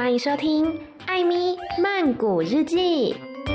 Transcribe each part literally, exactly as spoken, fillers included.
歡迎收聽艾咪曼谷日記。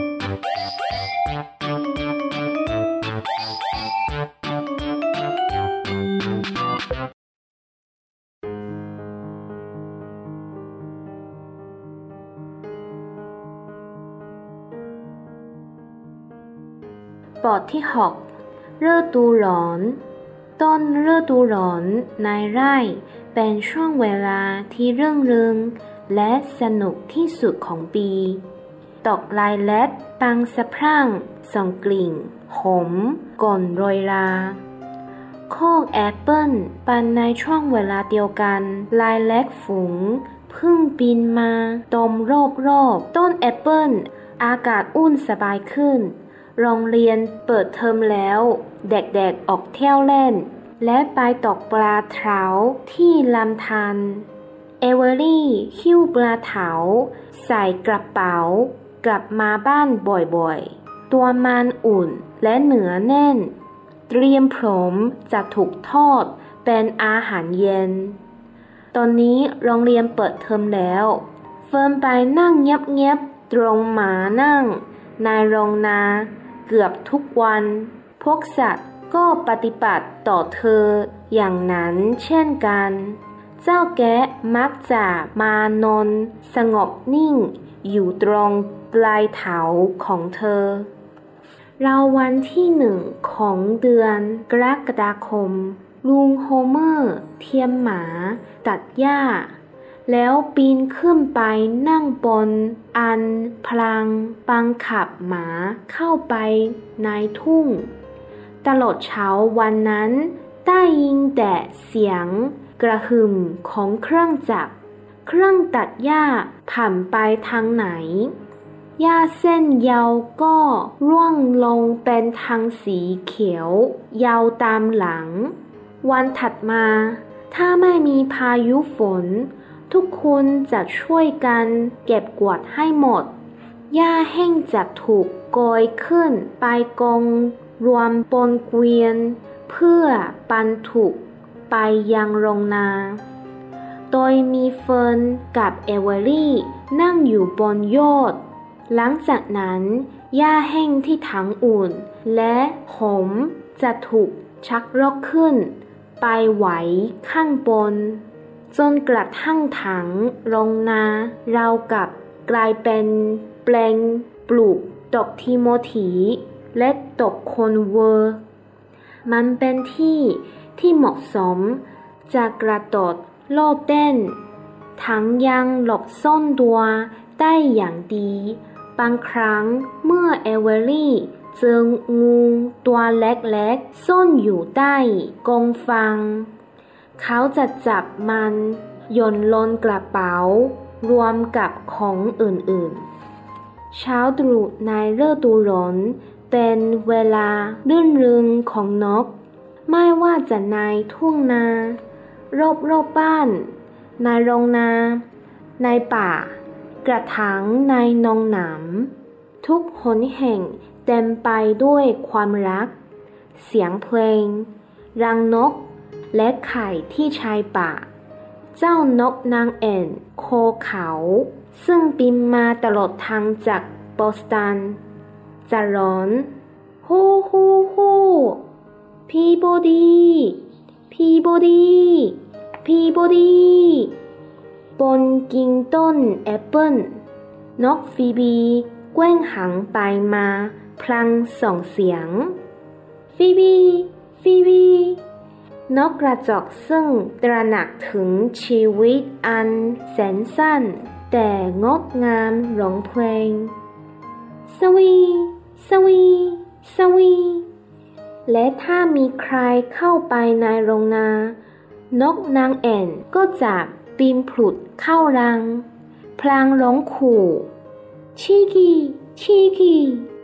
บทที่หกฤดูร้อนต้นฤดูร้อนในไร่เป็นช่วงเวลาที่รื่นเริงและสนุกที่สุดของปีดอกไลแลกบานสะพรั่งส่งกลิ่นหอมก่อนโรยราโคกแอปเปิ้ลบานในช่วงเวลาเดียวกันไลแลกฝูงพึ่งบินมาตอมรอบๆต้นแอปเปิ้ลอากาศอุ่นสบายขึ้นโรงเรียนเปิดเทอมแล้วเด็กๆออกเที่ยวเล่นและไปตกปลาเถาที่ลำธารเอเวอรี่หิ้วปลาเถาใส่กระเป๋ากลับมาบ้านบ่อยๆตัวมันอุ่นและเนื้อแน่นเตรียมพร้อมจะถูกทอดเป็นอาหารเย็นตอนนี้โรงเรียนเปิดเทอมแล้วเฟิร์นไปนั่งเงียบๆตรงหมานั่งในโรงนาเกือบทุกวันพวกสัตว์ก็ปฏิบัติต่อเธออย่างนั้นเช่นกันเจ้าแกะมักจะมานอนสงบนิ่งอยู่ตรงปลายเท้าของเธอราววันที่หนึ่งของเดือนกรกฎาคมลุงโฮเมอร์เทียมหมาตัดหญ้าแล้วปีนขึ้นไปนั่งบนอันพลังบังคับหมาเข้าไปในทุ่งตลอดเช้าวันนั้นได้ยินแต่เสียงกระหึ่มของเครื่องจักรเครื่องตัดหญ้าผ่านไปทางไหนหญ้าเส้นยาวก็ร่วงลงเป็นทางสีเขียวยาวตามหลังวันถัดมาถ้าไม่มีพายุฝนทุกคนจะช่วยกันเก็บกวาดให้หมดหญ้าแห้งจะถูกโกยขึ้นไปกองรวมบนเกวียนเพื่อบรรทุกไปยังโรงนาโดยมีเฟิร์นกับเอเวอรี่นั่งอยู่บนยอดหลังจากนั้นหญ้าแห้งที่ถังอุ่นและหอมจะถูกชักรอกขึ้นไปไว้ข้างบนจนกระทั่งถังโรงนาราวกับกลายเป็นแปลงปลูกดอกทิโมธีและดอกโคนเวอร์มันเป็นที่ที่เหมาะสมจะกระโดดโลดเต้นทั้งยังหลบซ่อนตัวได้อย่างดีบางครั้งเมื่อเอเวอรี่เจองูตัวเล็กๆซ่อนอยู่ใต้กองฟางเขาจะจับมันโยนลงกระเป๋ารวมกับของอื่นๆเช้าตรู่ในฤดูร้อนเป็นเวลารื่นเริงของนกไม่ว่าจะในทุ่งนารอบๆบ้านในโรงนาในป่ากระถางในหนองน้ำทุกหนแห่งเต็มไปด้วยความรักเสียงเพลงรังนกและไข่ที่ชายป่าเจ้านกนางแอ่นโคเขาซึ่งบินมาตลอดทางจากบอสตันจะร้อนฮู้ฮู้ฮู้พีโบดีพีโบดีพีโบดีบนกิ่งต้นแอปเปิ้ลนกฟีบีแกว่งหางไปมาพลางส่งเสียงฟีบีฟีบีนกกระจอกซึ่งตระหนักถึงชีวิตอันแสนสั้นแต่งดงามร้องเพลงสวีสวีสวีและถ้ามีใครเข้าไปในโรงนานกนางแอ่นก็จะปีนผุดเข้ารังพลางร้องขู่ชีกีชีกี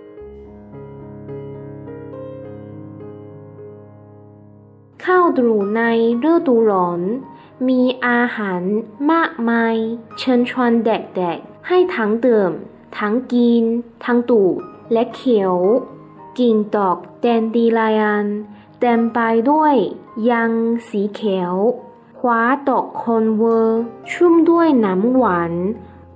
ข้าวตรู่ในฤดูร้อนมีอาหารมากมายเชิญชวนเด็กๆให้ทั้งดื่มทั้งกินทั้งดูดและเคี้ยวกิ่งดอกแดนดีไลอันเต็มไปด้วยยังสีเขียวคว้าดอกโคนเวอร์ชุ่มด้วยน้ำหวาน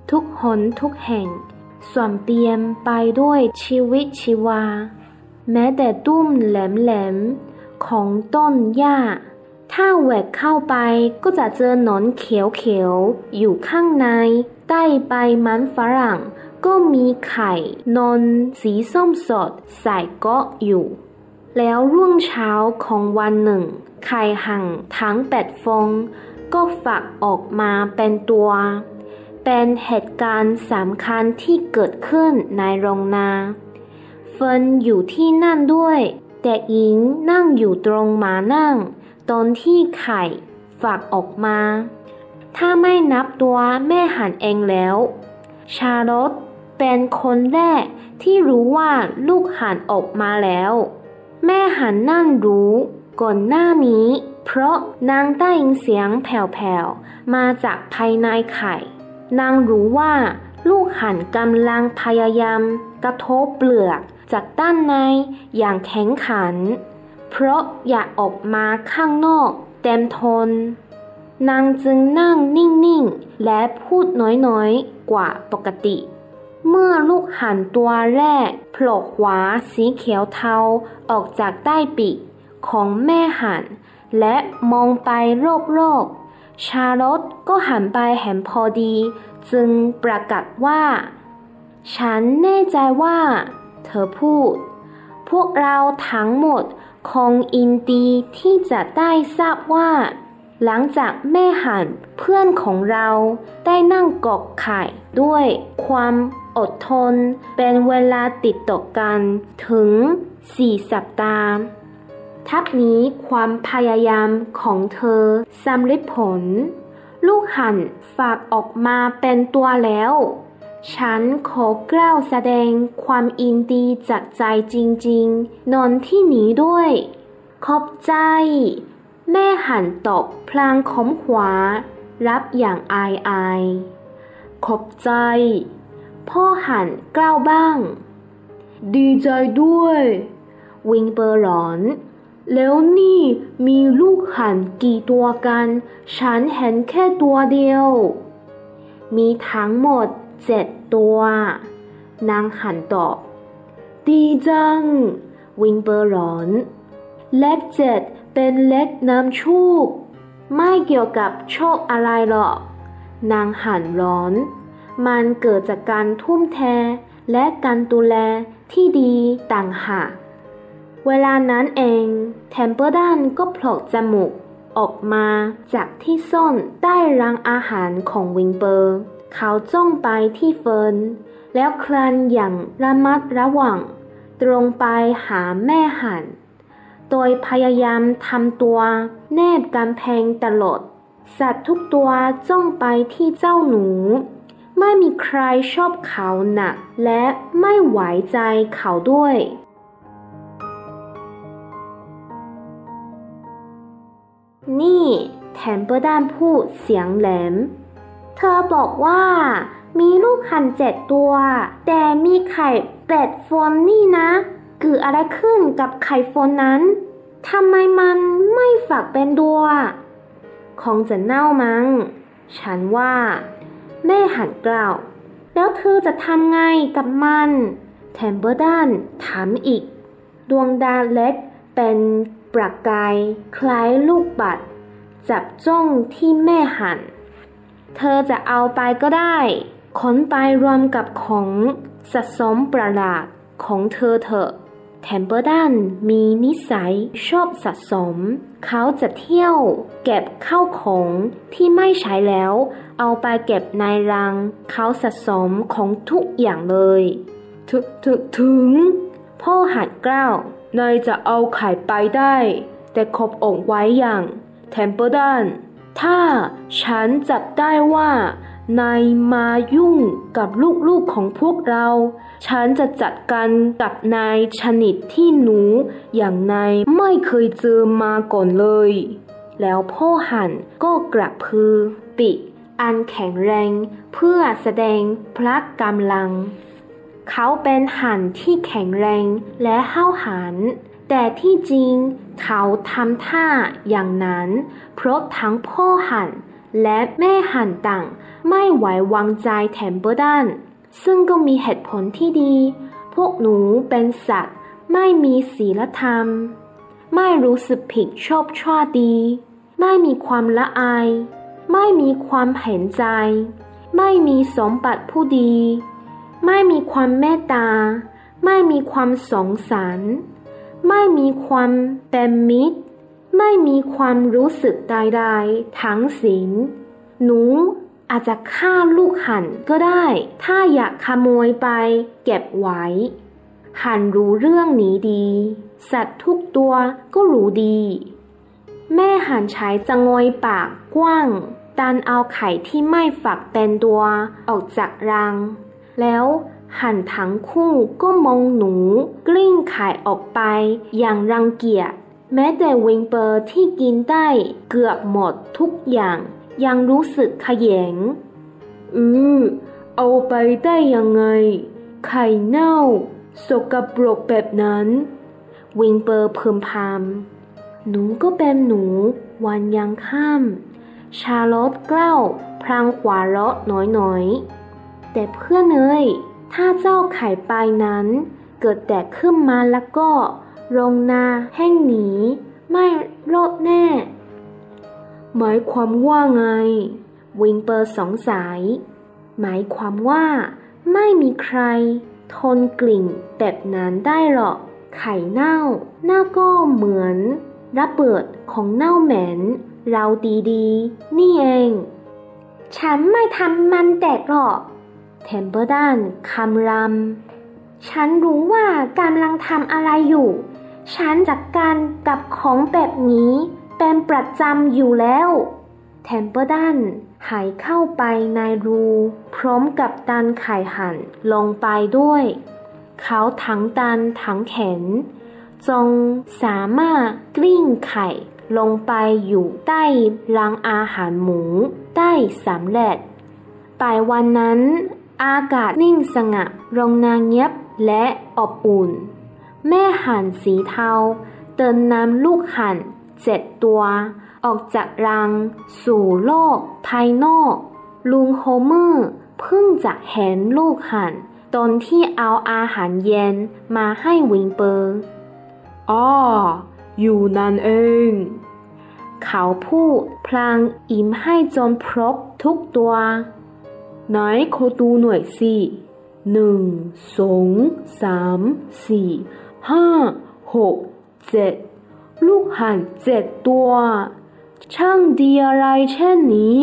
ทุกหนทุกแห่งส่วนเปี่ยมไปด้วยชีวิตชีวาแม้แต่ตุ้มแหลมๆของต้นหญ้าถ้าแหวกเข้าไปก็จะเจอหนอนเขียวๆอยู่ข้างในใต้ใบมันฝรั่งก็มีไข่นอนสีส้มสดใส่เกาะอยู่แล้วรุ่งเช้าของวันหนึ่งไข่ห่างทั้งแปดฟองก็ฝักออกมาเป็นตัวเป็นเหตุการณ์สำคัญที่เกิดขึ้นในโรงนาเฟิร์นอยู่ที่นั่นด้วยแต่อิงนั่งอยู่ตรงม้านั่งตอนที่ไข่ฝักออกมาถ้าไม่นับตัวแม่ห่านเองแล้วชาลอตเป็นคนแรกที่รู้ว่าลูกห่านออกมาแล้วแม่ห่านนั่นรู้ก่อนหน้านี้เพราะนางได้ยินเสียงแผ่วๆมาจากภายในไข่นางรู้ว่าลูกห่านกำลังพยายามกระทบเปลือกจากด้านในอย่างแข็งขันเพราะอยากออกมาข้างนอกเต็มทนนางจึงนั่งนิ่งๆและพูดน้อยๆกว่าปกติเมื่อลูกห่านตัวแรกโผล่หัวสีเขียวเทาออกจากใต้ปีกของแม่ห่านและมองไปรอบๆชาลอตก็หันไปเห็นพอดีจึงประกาศว่าฉันแน่ใจว่าเธอพูดพวกเราทั้งหมดคงยินดีที่จะได้ทราบว่าหลังจากแม่ห่านเพื่อนของเราได้นั่งกกไข่ด้วยความอดทนเป็นเวลาติดต่อกันถึงสี่สัปดาห์ทับนี้ความพยายามของเธอสำเร็จผลลูกห่านฝากออกมาเป็นตัวแล้วฉันขอกล่าวแสดงความยินดีจากใจจริงๆนอนที่นี้ด้วยขอบใจแม่ห่านตอบพลางขมขวารับอย่างอายอายขอบใจพ่อห่านกล่าวบ้างดีใจด้วยวิงเปอร์ร้อนแล้วนี่มีลูกห่านกี่ตัวกันฉันเห็นแค่ตัวเดียวมีทั้งหมดเจ็ดตัวนางห่านตอบดีจังวิงเปอร์ร้อนเลขเจ็ดเป็นเลขนำโชคไม่เกี่ยวกับโชคอะไรหรอกนางห่านร้อนมันเกิดจากการทุ่มเทและการดูแลที่ดีต่างหากเวลานั้นเองเทมเปอร์ดันก็โผล่จมูกออกมาจากที่ซ่อนใต้รังอาหารของวิงเปอร์เขาจ้องไปที่เฟิร์นแล้วคลานอย่างระมัดระวังตรงไปหาแม่ห่านโดยพยายามทำตัวแนบกำแพงตลอดสัตว์ทุกตัวจ้องไปที่เจ้าหนูไม่มีใครชอบเขาหนักและไม่ไว้ใจเขาด้วยนี่แทมเปอร์ดันพูดเสียงแหลมเธอบอกว่ามีลูกห่านเจ็ดตัวแต่มีไข่แปดฟองนี่นะเกิดอะไรขึ้นกับไข่ฟองนั้นทำไมมันไม่ฝักเป็นตัวคงจะเน่ามั้งฉันว่าแม่ห่านกล่าวแล้วเธอจะทำไงกับมันแทมเปอร์ดันถามอีกดวงดาวเล็กเป็นประกายคล้ายลูกบัตรจับจ้องที่แม่ห่านเธอจะเอาไปก็ได้ขนไปรวมกับของสะสมประหลาดของเธอเถอะแทมเปอร์ดันมีนิสัยชอบสะสมเขาจะเที่ยวเก็บข้าวของที่ไม่ใช้แล้วเอาไปเก็บในรังเขาสะสมของทุกอย่างเลยถึถึถึงพ่อห่านกล่าวนายจะเอาไข่ไปได้แต่ขอบอกไว้อย่างแทมเปอร์ดันถ้าฉันจับได้ว่านายมายุ่งกับลูกๆของพวกเราฉันจะจัดการกับนายชนิดที่หนูอย่างนายไม่เคยเจอมาก่อนเลยแล้วพ่อห่านก็กระพือปีกอันแข็งแรงเพื่อแสดงพละกำลังเขาเป็นห่านที่แข็งแรงและห้าวหาญแต่ที่จริงเขาทำท่าอย่างนั้นเพราะทั้งพ่อห่านและแม่ฮันต่างไม่ไว้วางใจเทมเปอร์ดันซึ่งก็มีเหตุผลที่ดีพวกหนูเป็นสัตว์ไม่มีศีลธรรมไม่รู้สึกผิดชอบชั่วดีไม่มีความละอายไม่มีความเห็นใจไม่มีสมบัติผู้ดีไม่มีความเมตตาไม่มีความสงสารไม่มีความเป็นมิตรไม่มีความรู้สึกใดๆทั้งสิ้นหนูอาจจะฆ่าลูกหันก็ได้ถ้าอยากขโมยไปเก็บไว้หันรู้เรื่องนี้ดีสัตว์ทุกตัวก็รู้ดีแม่หันใช้จะงอยปากกว้างดันเอาไข่ที่ไม่ฝักเป็นตัวออกจากรังแล้วหันทั้งคู่ก็มองหนูกลิ้งไข่ออกไปอย่างรังเกียจแม้แต่วิงเปอร์ที่กินได้เกือบหมดทุกอย่างยังรู้สึกขยงอือเอาไปได้ยังไงไข่เน่าสกปรกแบบนั้นวิงเปอร์พึมพำหนูก็เป็นหนูวันยังค่ำชาร์ลอตกล้าวพลางขวาเราะน้อยๆแต่เพื่อนเอ้ยถ้าเจ้าไข่ปลายนั้นเกิดแตกขึ้นมาแล้วก็โรงนาแห้งหนีไม่รอดแน่หมายความว่าไงวิงเปอร์สงสัยหมายความว่าไม่มีใครทนกลิ่นแบบนั้นได้หรอกไข่เน่าหน้าก็เหมือนระเบิดของเน่าเหม็นเราดีๆนี่เองฉันไม่ทำมันแตกหรอกเทมเปอร์ดันคำรำฉันรู้ว่ากำลังทำอะไรอยู่ฉันจัดการกับของแบบนี้เป็นประจำอยู่แล้วเทมเปอร์ดันหายเข้าไปในรูพร้อมกับดันไข่หั่นลงไปด้วยเขาทั้งดันทั้งเข็นจงสามารถกลิ้งไข่ลงไปอยู่ใต้รังอาหารหมูได้สำเร็จปลายวันนั้นอากาศนิ่งสงบโรงนาเงียบและอบอุ่นแม่ห่านสีเทาเดินนำลูกห่านเจ็ดตัวออกจากรังสู่โลกภายนอกลุงโฮเมอร์เพิ่งจะเห็นลูกห่านตอนที่เอาอาหารเย็นมาให้วิงเปอร์อ้ออยู่นั่นเองเขาพูดพลางอิ่มให้จนครบทุกตัวไหนขอดูหน่อยสิหนึ่งสองสามสี่ห้าหกเจ็ดลูกห่านเจ็ดตัวช่างดีอะไรเช่นนี้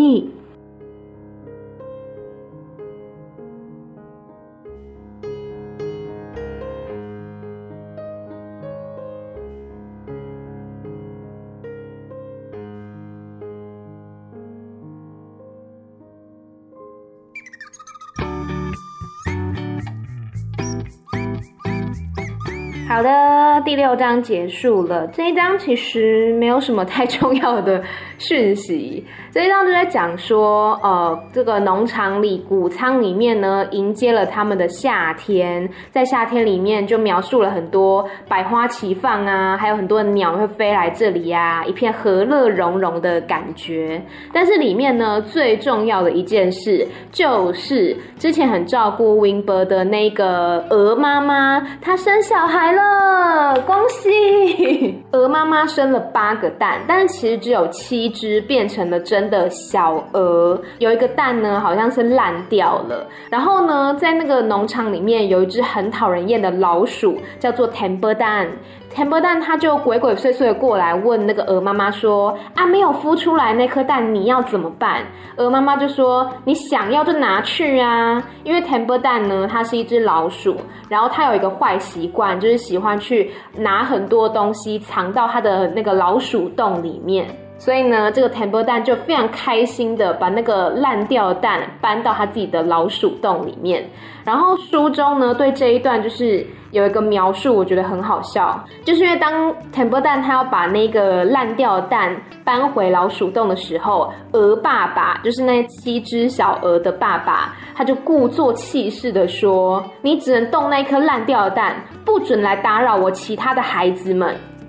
好的，第六章結束了。這一章其實沒有什麼太重要的訊息。這一章就在講說，呃，這個農場裡穀倉裡面呢，迎接了他們的夏天。在夏天裡面就描述了很多百花齊放啊，還有很多的鳥會飛來這裡啊，一片和樂融融的感覺。但是裡面呢，最重要的一件事就是之前很照顧 Wingber 的那個鵝媽媽，她生小孩了，恭喜！鵝媽媽生了八個蛋，但是其實只有七隻變成了真的小鵝，有一個蛋呢好像是爛掉了。然後呢，在那個農場裡面有一隻很討人厭的老鼠，叫做 Temperdan。Temperdan 他就鬼鬼祟祟的過來問那個鵝媽媽說：“啊，沒有孵出來那顆蛋，你要怎麼辦？”鵝媽媽就說：“你想要就拿去啊。”因為 Temperdan 呢，它是一隻老鼠，然後它有一個壞習慣，就是喜歡去拿很多東西藏到它的那個老鼠洞裡面。所以呢，這個 Temperdan 就非常開心的把那個爛掉的蛋搬到他自己的老鼠洞裡面。然後書中呢，對這一段就是有一個描述，我覺得很好笑，就是因為當 Temperdan 他要把那個爛掉的蛋搬回老鼠洞的時候，鵝爸爸就是那七隻小鵝的爸爸，他就故作氣勢的說：“你只能動那顆爛掉的蛋，不准來打擾我其他的孩子們。”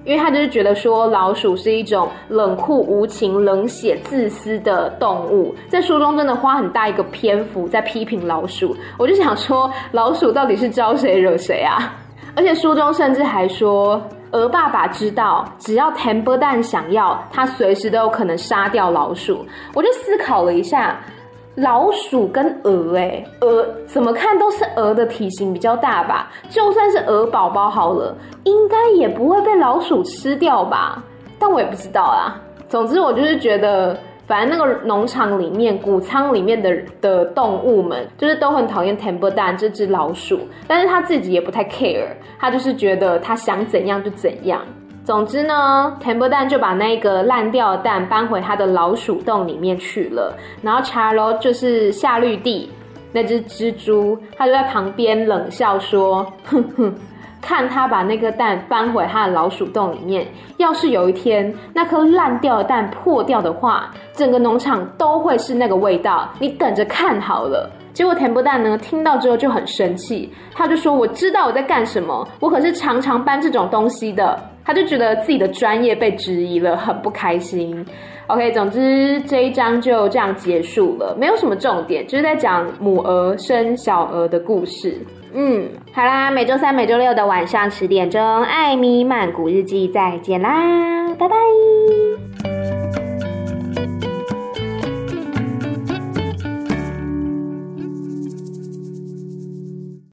因為他就是覺得說老鼠是一種冷酷無情、冷血、自私的動物，在書中真的花很大一個篇幅在批評老鼠。我就想說，老鼠到底是招誰惹誰啊？而且書中甚至還說，鵝爸爸知道，只要 Templeton 想要，他隨時都有可能殺掉老鼠。我就思考了一下，老鼠跟鵝，哎，鵝怎麼看都是鵝的體型比較大吧？就算是鵝寶寶好了，應該也不會被老鼠吃掉吧？但我也不知道啦。總之，我就是覺得，反正那個農場裡面、谷倉裡面的的動物們，就是都很討厭 Templeton 這隻老鼠，但是他自己也不太 care， 他就是覺得他想怎樣就怎樣。總之呢 Templeton 就把那個爛掉的蛋搬回他的老鼠洞裡面去了，然後 Charlotte 就是夏綠蒂那隻蜘蛛，他就在旁邊冷笑說，哼哼，看他把那個蛋搬回他的老鼠洞裡面，要是有一天那顆爛掉的蛋破掉的話，整個農場都會是那個味道，你等着看好了。結果 Templeton 呢聽到之後就很生氣，他就說，我知道我在幹什麼，我可是常常搬這種東西的。他就覺得自己的專業被質疑了，很不開心。OK， 總之這一章就這樣結束了，沒有什麼重點，就是在講母鵝生小鵝的故事。嗯，好啦，每週三、每週六的晚上十點鐘，艾咪曼谷日記再見啦，拜拜。